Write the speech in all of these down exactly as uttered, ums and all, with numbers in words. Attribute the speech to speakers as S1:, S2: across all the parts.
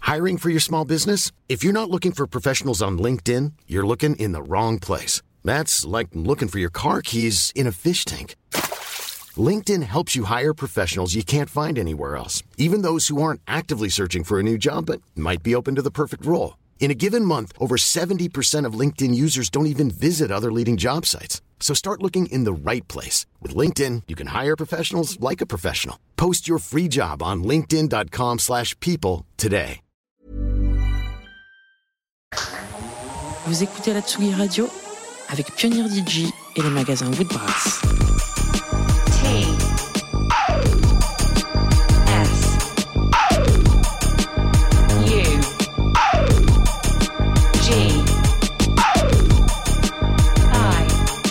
S1: Hiring for your small business? If you're not looking for professionals on LinkedIn, you're looking in the wrong place. That's like looking for your car keys in a fish tank. LinkedIn helps you hire professionals you can't find anywhere else, even those who aren't actively searching for a new job but might be open to the perfect role. In a given month, over seventy percent of LinkedIn users don't even visit other leading job sites. So start looking in the right place. With LinkedIn, you can hire professionals like a professional. Post your free job on linkedin dot com slash people today.
S2: Vous écoutez la Tsugi Radio avec Pioneer D J et les magasins Woodbrass.
S3: T S U G I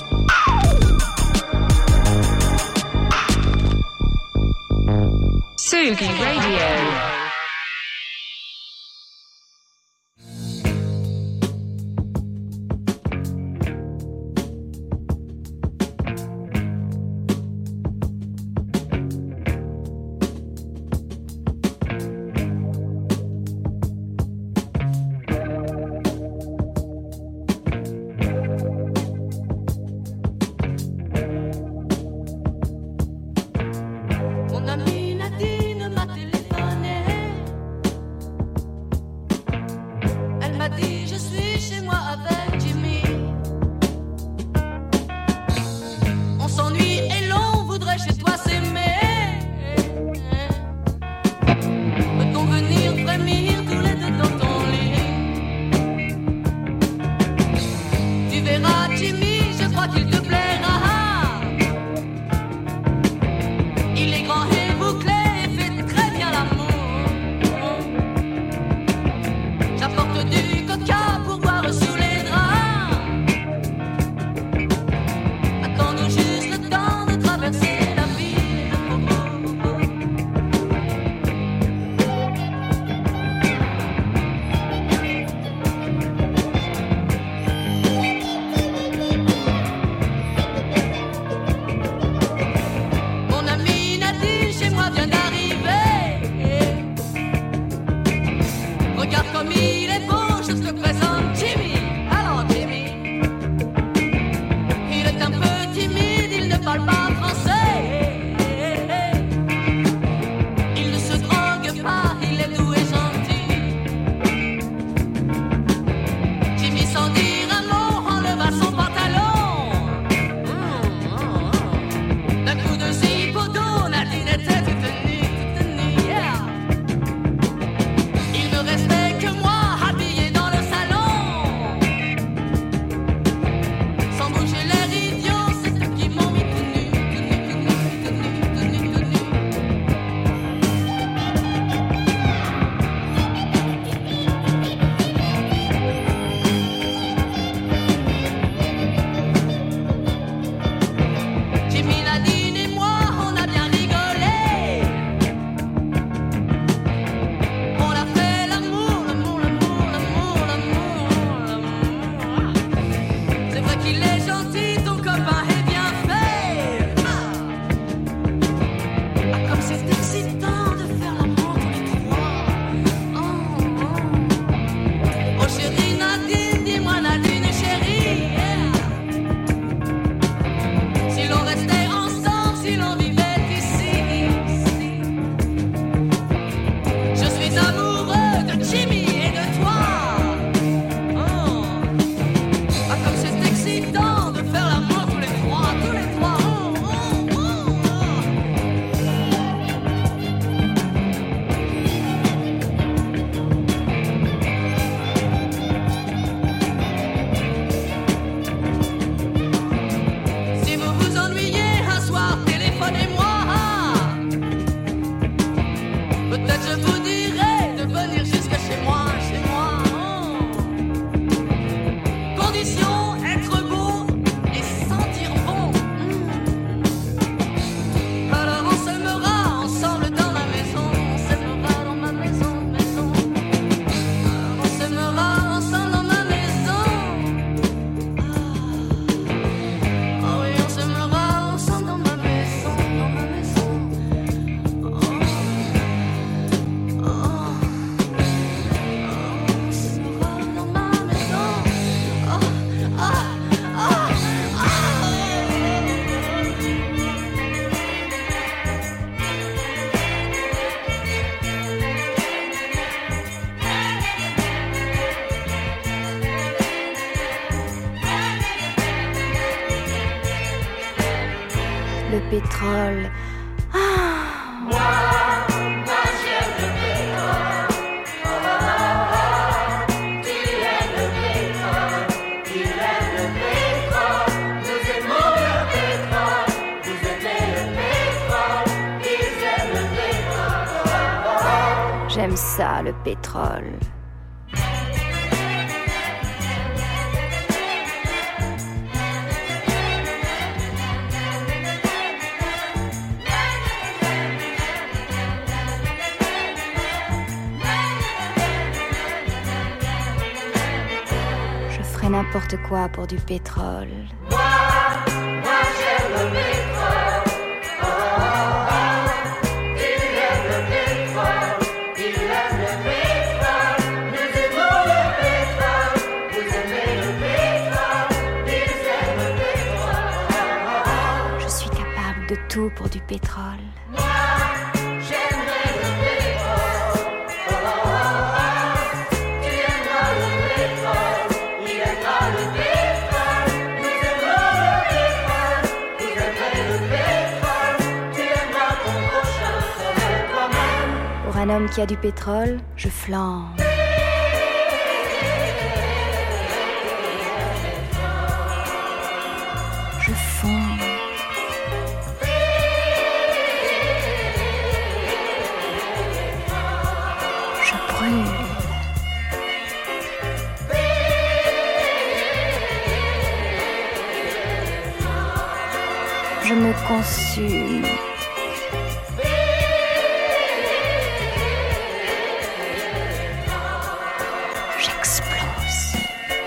S3: Tsugi Radio.
S4: Mon ami Nadine m'a téléphoné. pétrole. Ah.
S5: Moi, moi j'aime le pétrole. Oh, oh, oh, oh. Tu aimes le pétrole. Il aime le pétrole. Nous aimons le pétrole. Vous aimez le pétrole. Ils aiment le pétrole. Oh, oh, oh.
S4: J'aime ça, le pétrole. N'importe quoi pour du pétrole.
S5: Moi, moi j'aime le pétrole. Oh, oh, oh. Il aime le pétrole. Il aime le pétrole. Nous aimons le pétrole. Vous aimez le pétrole. Ils aiment le pétrole. Oh, oh, oh.
S4: Je suis capable de tout pour du pétrole.
S5: Moi, j'aimerais le pétrole. Oh, oh, oh. Tu aimeras le pétrole. Il aimera le pétrole, nous aimons le pétrole, vous aimerez le pétrole, tu aimeras ton prochain comme toi-même.
S4: Pour un homme qui a du pétrole, je flambe. Je fonds. Je brûle. Je me consume. J'explose.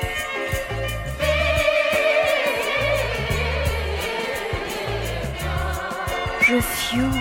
S4: Je fioule.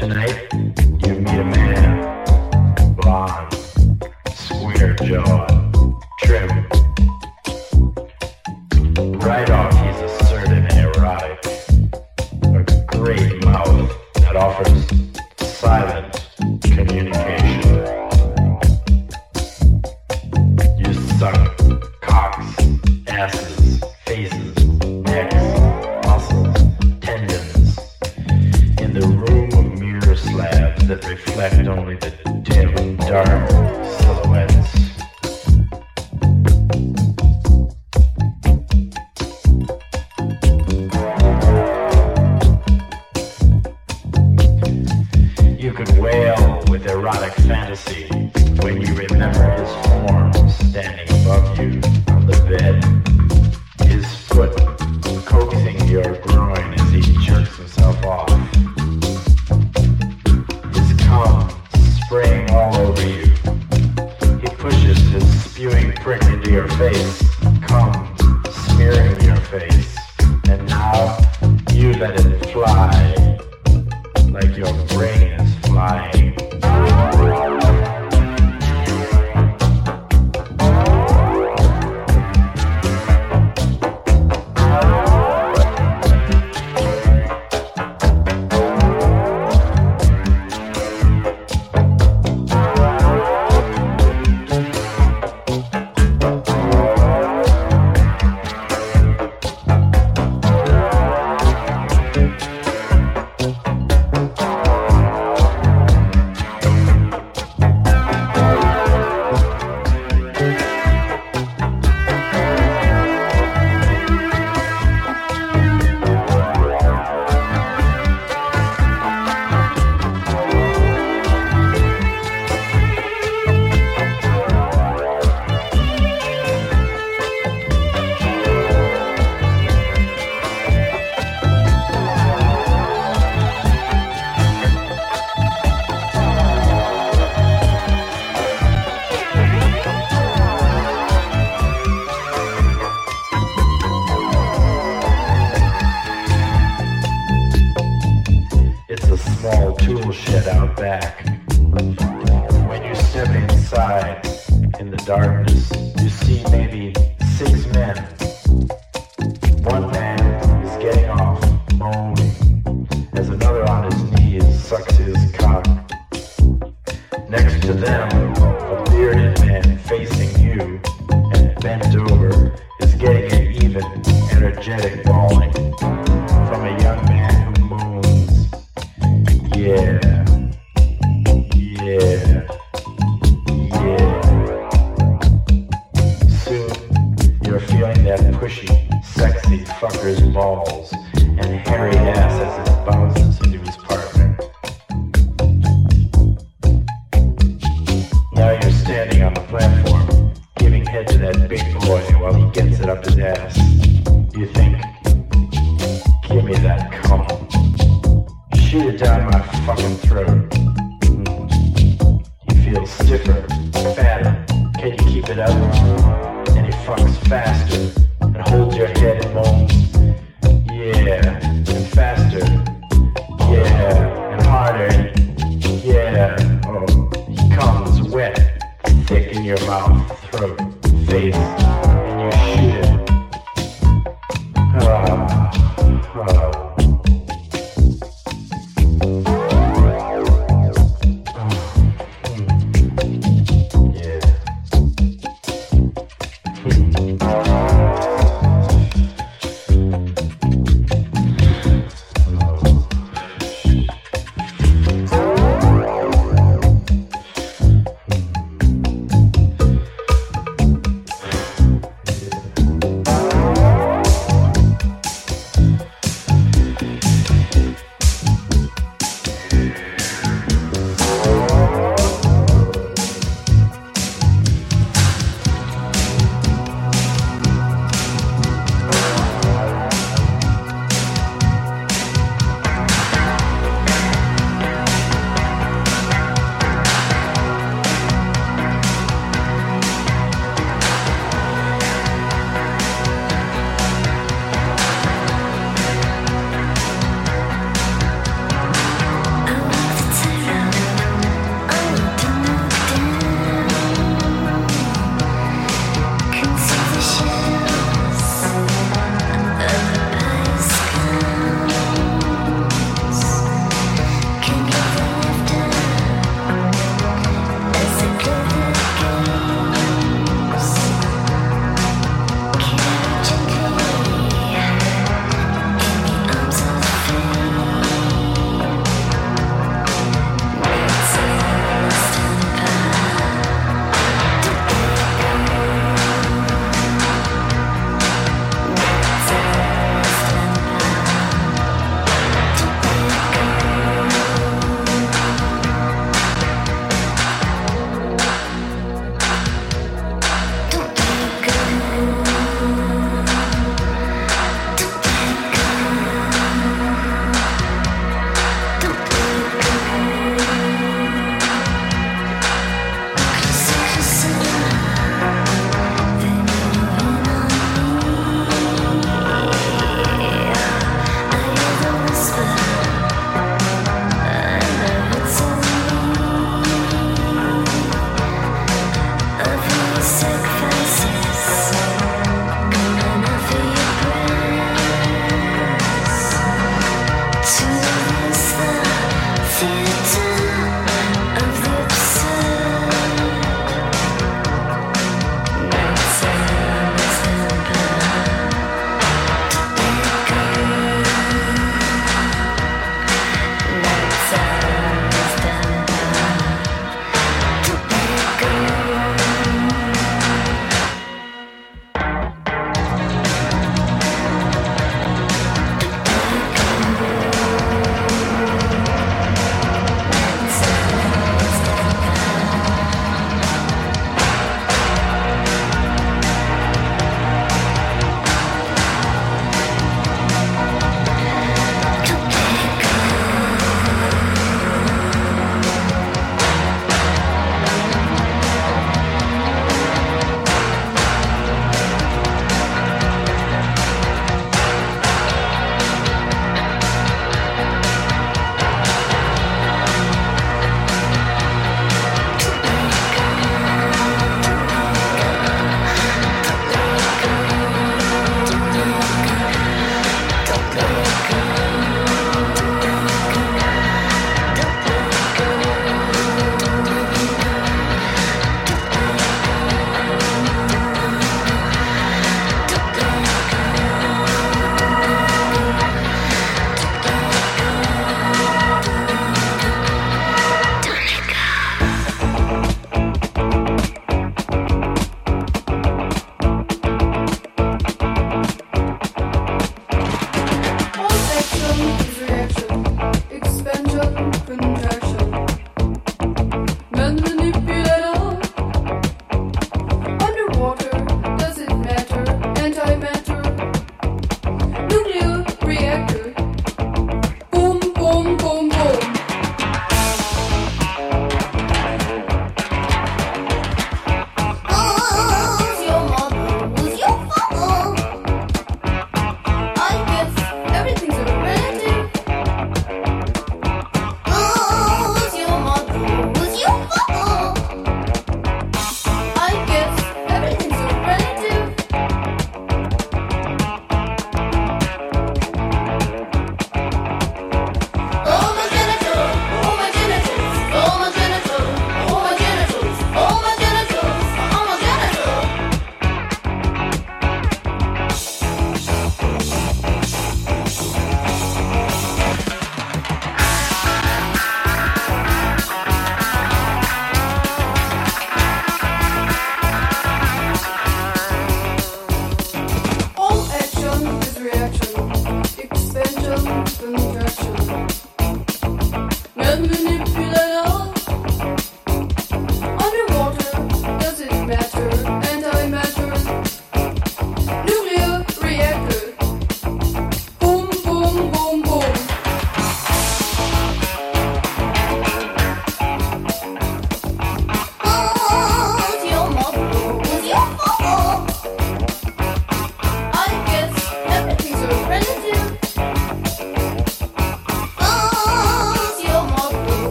S6: Tonight, you meet a man, blonde, square jawed, trim. Right off, he's assertive and erotic. A great mouth that offers silent communication. You suck cocks, asses, faces, necks, muscles, tendons. In the room of mirror slabs that reflect only the dim, dark silhouettes. You could wail with erotic fantasy when you remember his form standing above you on the bed, his foot coaxing your groin as he jerks himself off, his cum spraying all over you. He pushes his spewing prick into your face, cum smearing your face, and now you let it fly like your brain is flying.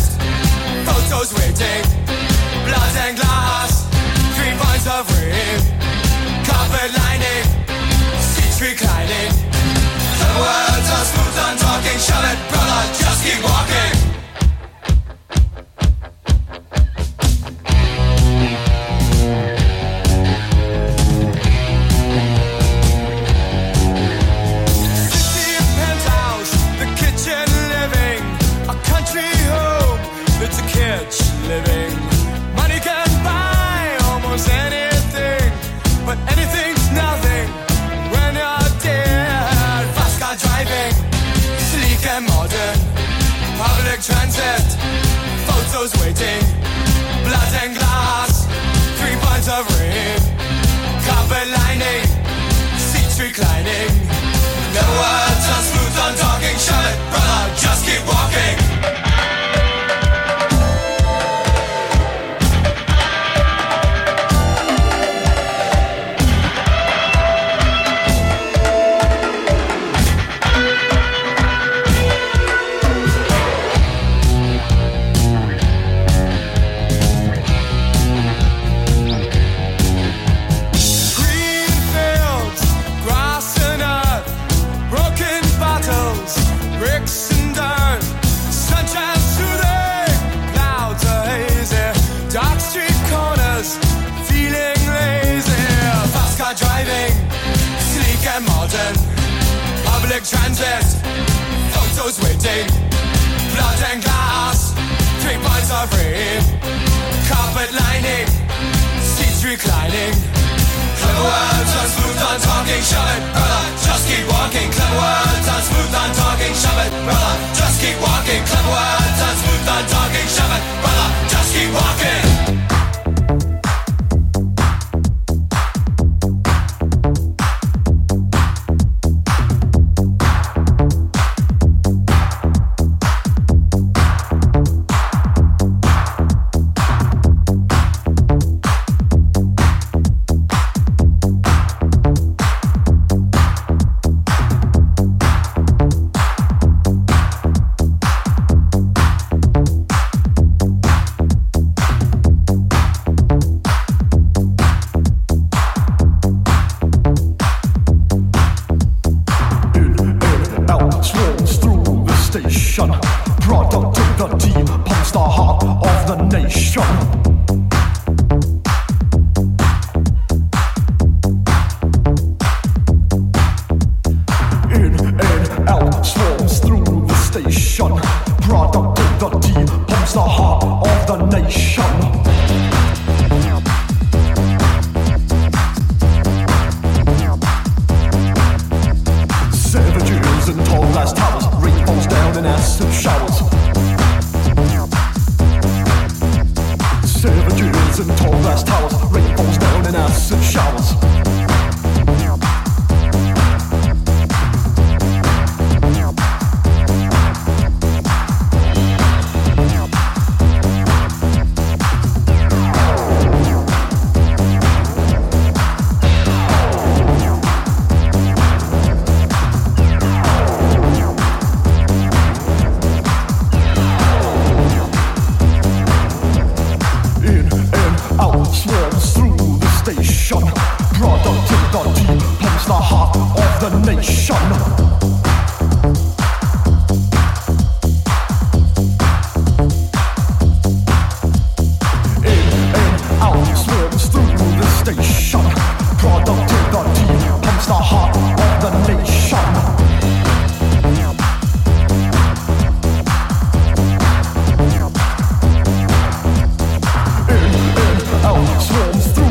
S7: transist, photos waiting, blood and glass, three pints of rain, carpet lining, seats reclining. The words are smooth and talking, shove it, brother, just keep walking. It's a kitsch living. Money can buy almost anything, but anything's nothing when you're dead. Fast car driving, sleek and modern, public transit, photos waiting, blood and glass, three pints of rain, carpet lining, seats reclining. No words are smooth on talking, shove it, brother, just keep walking. Modern, public transit, photos waiting, blood and glass, three pints of rain, carpet lining, seats reclining. Clever words on smooth on talking, shove it, brother, just keep walking. Clever words on smooth on talking, shove it, brother, just keep walking. Clever words on smooth on talking, shove it, brother, just keep walking.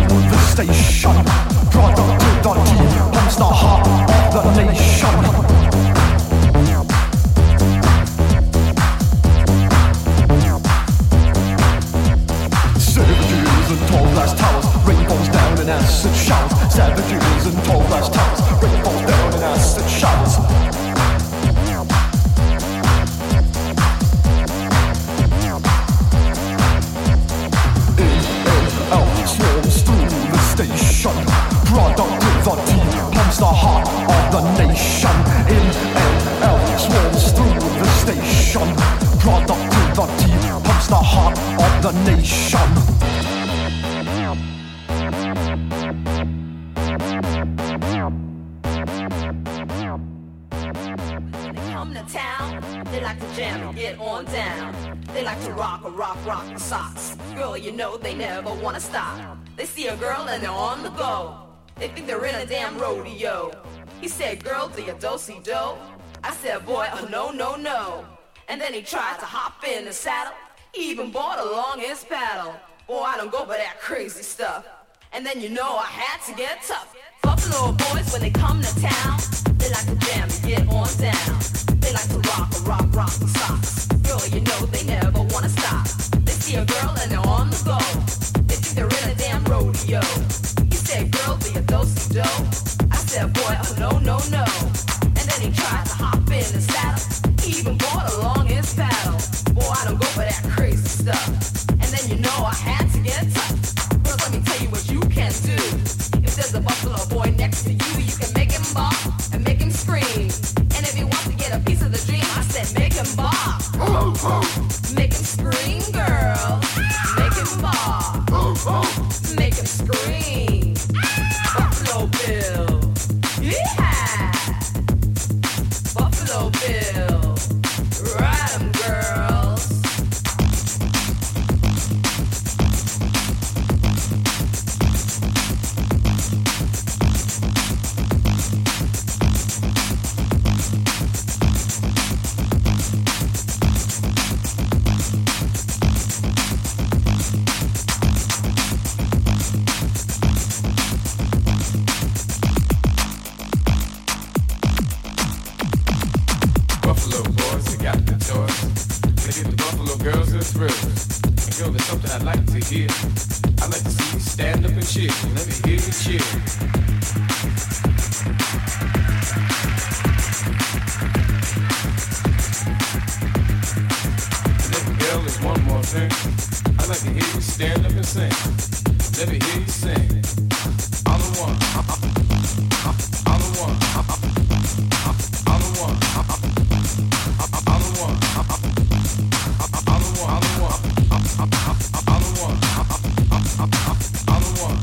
S8: Station, product to the team, pumps the heart of the nation. the heart of the nation.
S5: Come to town, they like to jam and get on down. They like to rock a rock, rock the socks. Girl, you know they never wanna stop. They see a girl and they're on the go. They think they're in a damn rodeo. He said, girl, do you do-si-do? I said, boy, oh no, no, no. And then he tried to hop in the saddle. He even brought along his paddle. Boy, I don't go for that crazy stuff. And then you know I had to get tough. Buffalo boys, when they come to town, they like to jam and get on down. They like to rock a rock, rock the socks. Girl, you know they never wanna stop. They see a girl and they're on the go. They think they're in a damn rodeo. He said, girl, do you do-si-do? I said, boy, oh no, no, no. And then he tried to hop in the saddle. He even brought along his paddle. Boy, I don't go for that crazy stuff. And then you know I had to get tough. Girl, let me tell you what you can do. If there's a buffalo boy next to you, you can make him bop and make him scream. And if he wants to get a piece of the dream, I said make him bop. Make him scream, girl. Make him bop. Make him scream. Buffalo Bill. Yeah. Buffalo Bill. Ride 'em, girls.
S9: Buffalo boys, they got the toys. They get the Buffalo girls the thrills. And girl, there's something I'd like to hear. I'd like to see you stand up and cheer. Let me hear you cheer. And if the girl is one more thing, I'd like to hear you stand up and sing. Let me hear you sing. I'm the one. I'm the one. I'm the one. I'm the one. I'm the one. I'm the one. I'm the one. I'm the one.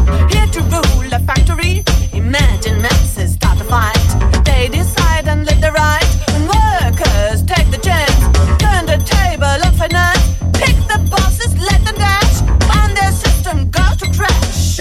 S5: here to rule a factory. Imagine masses start a fight. They decide and live the right. And workers take the chance. Turn the table upside down. Pick the bosses, let them dash. And their system goes to trash.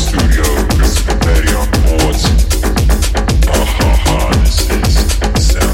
S10: Sound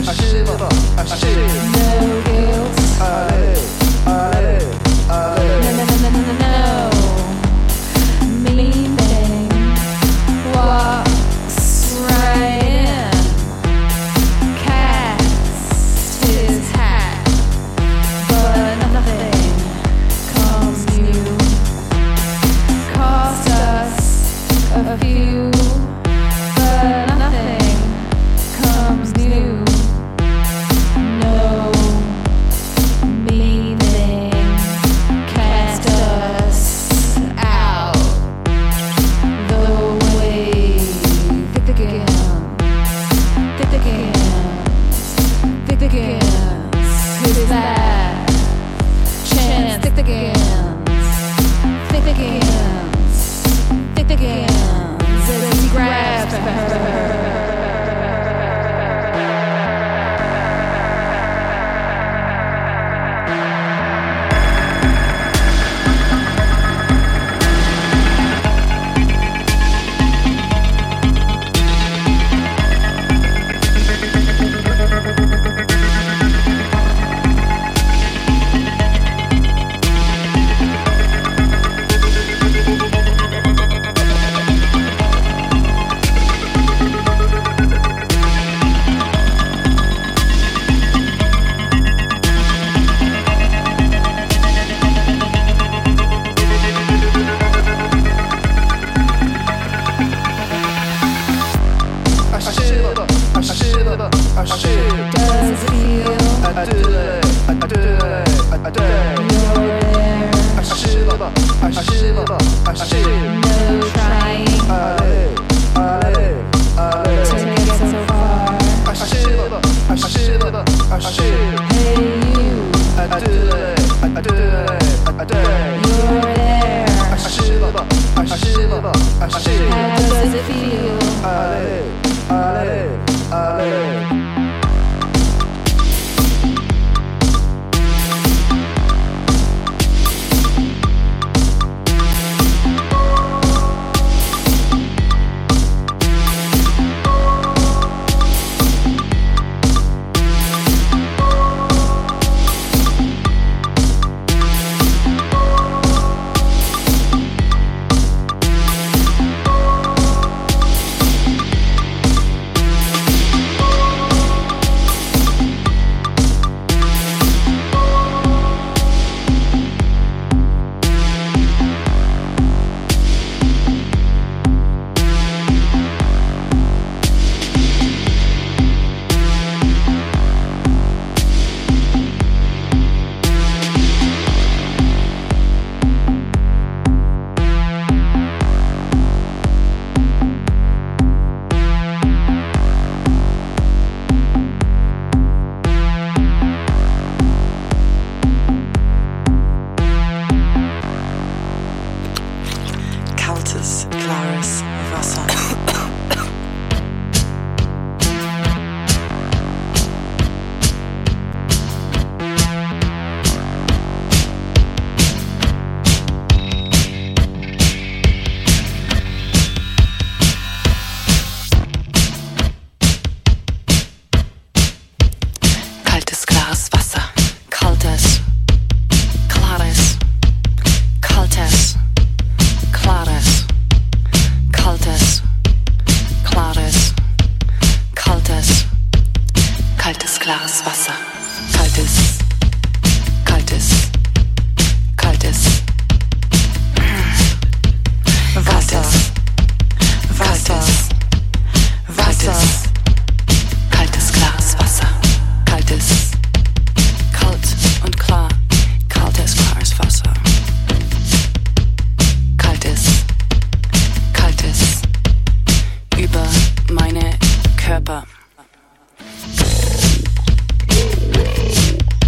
S2: Körper.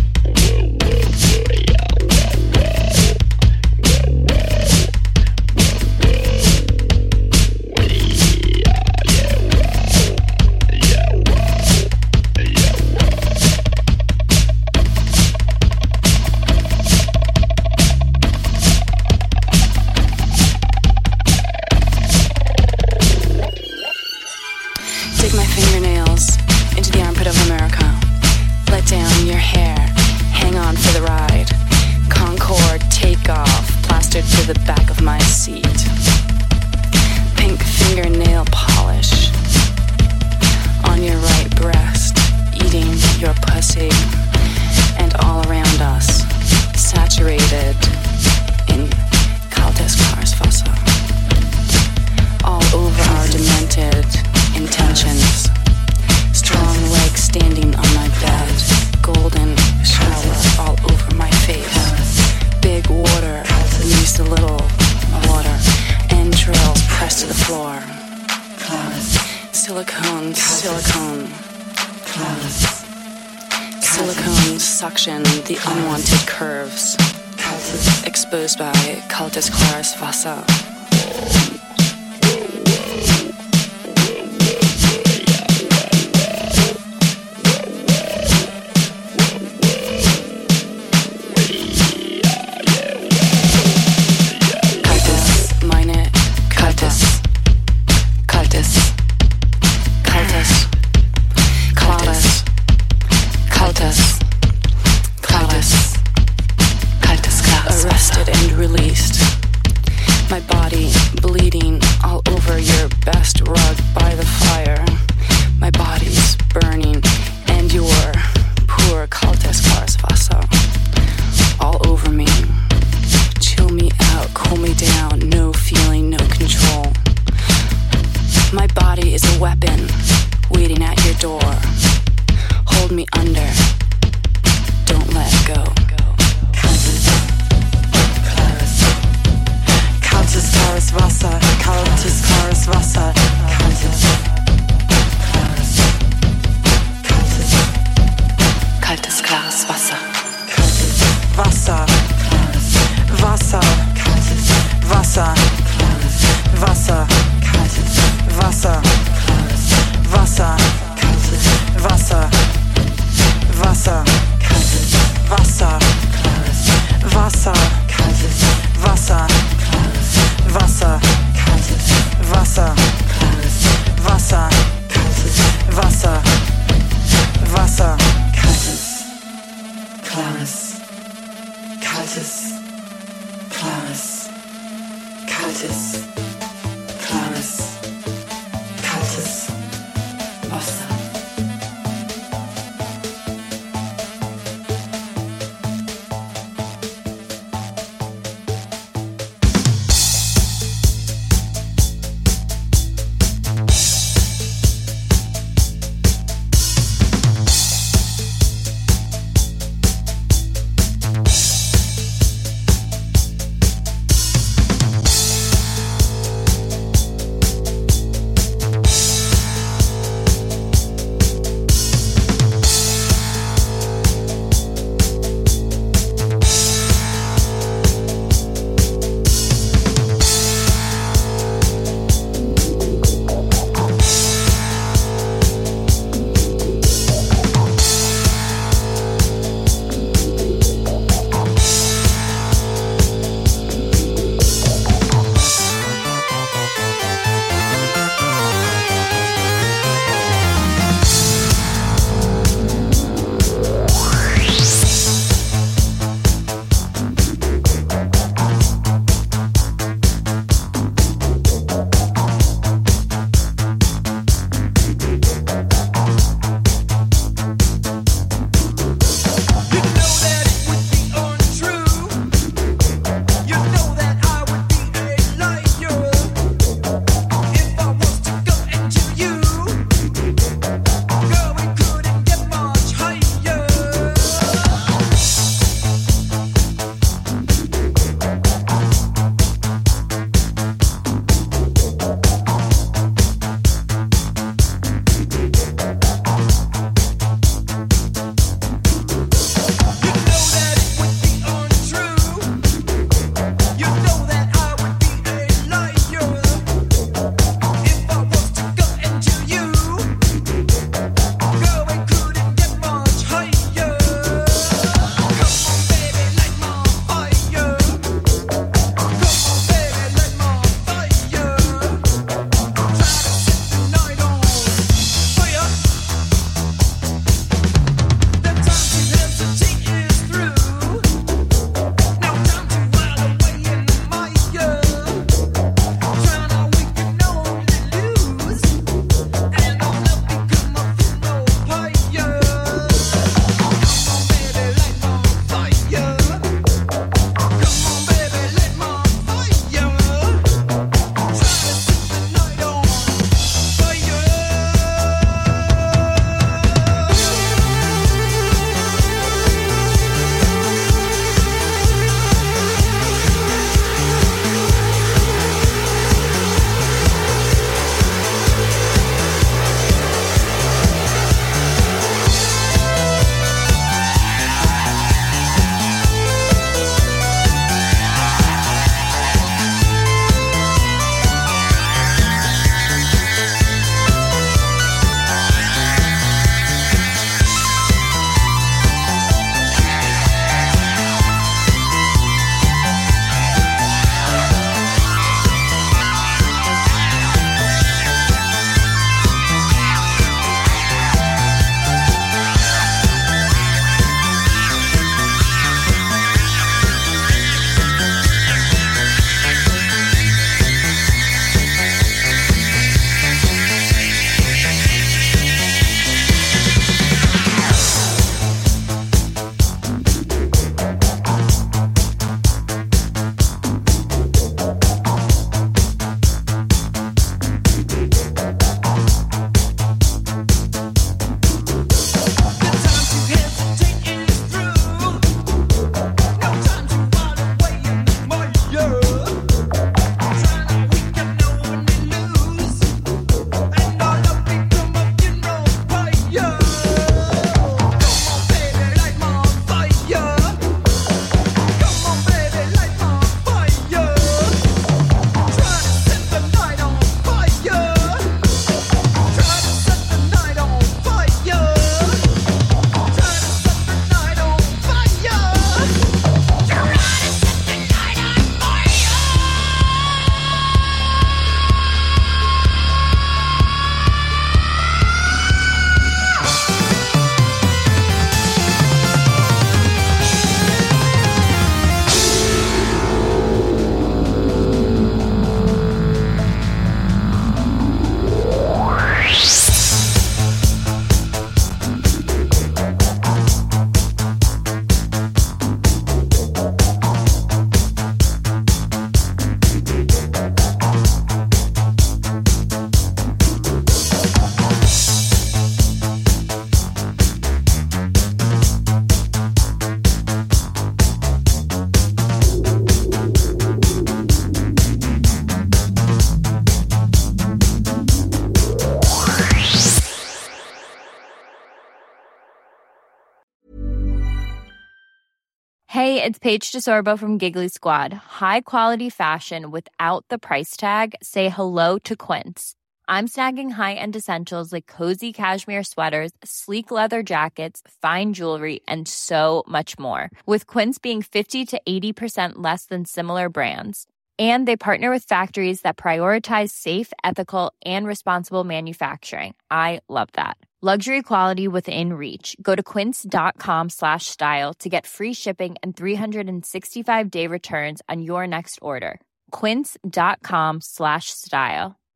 S2: standing on my bed, golden shower all over my face, big water leaves a little water, entrails pressed to the floor, silicone, silicone, silicone suction the unwanted curves, exposed by Kaltes Klares Wasser.
S10: Hey, it's Paige DeSorbo from Giggly Squad. High quality fashion without the price tag. Say hello to Quince. I'm snagging high-end essentials like cozy cashmere sweaters, sleek leather jackets, fine jewelry, and so much more. With Quince being fifty to eighty percent less than similar brands. And they partner with factories that prioritize safe, ethical, and responsible manufacturing. I love that. Luxury quality within reach. Go to quince.com slash style to get free shipping and three sixty-five day returns on your next order. Quince.com slash style.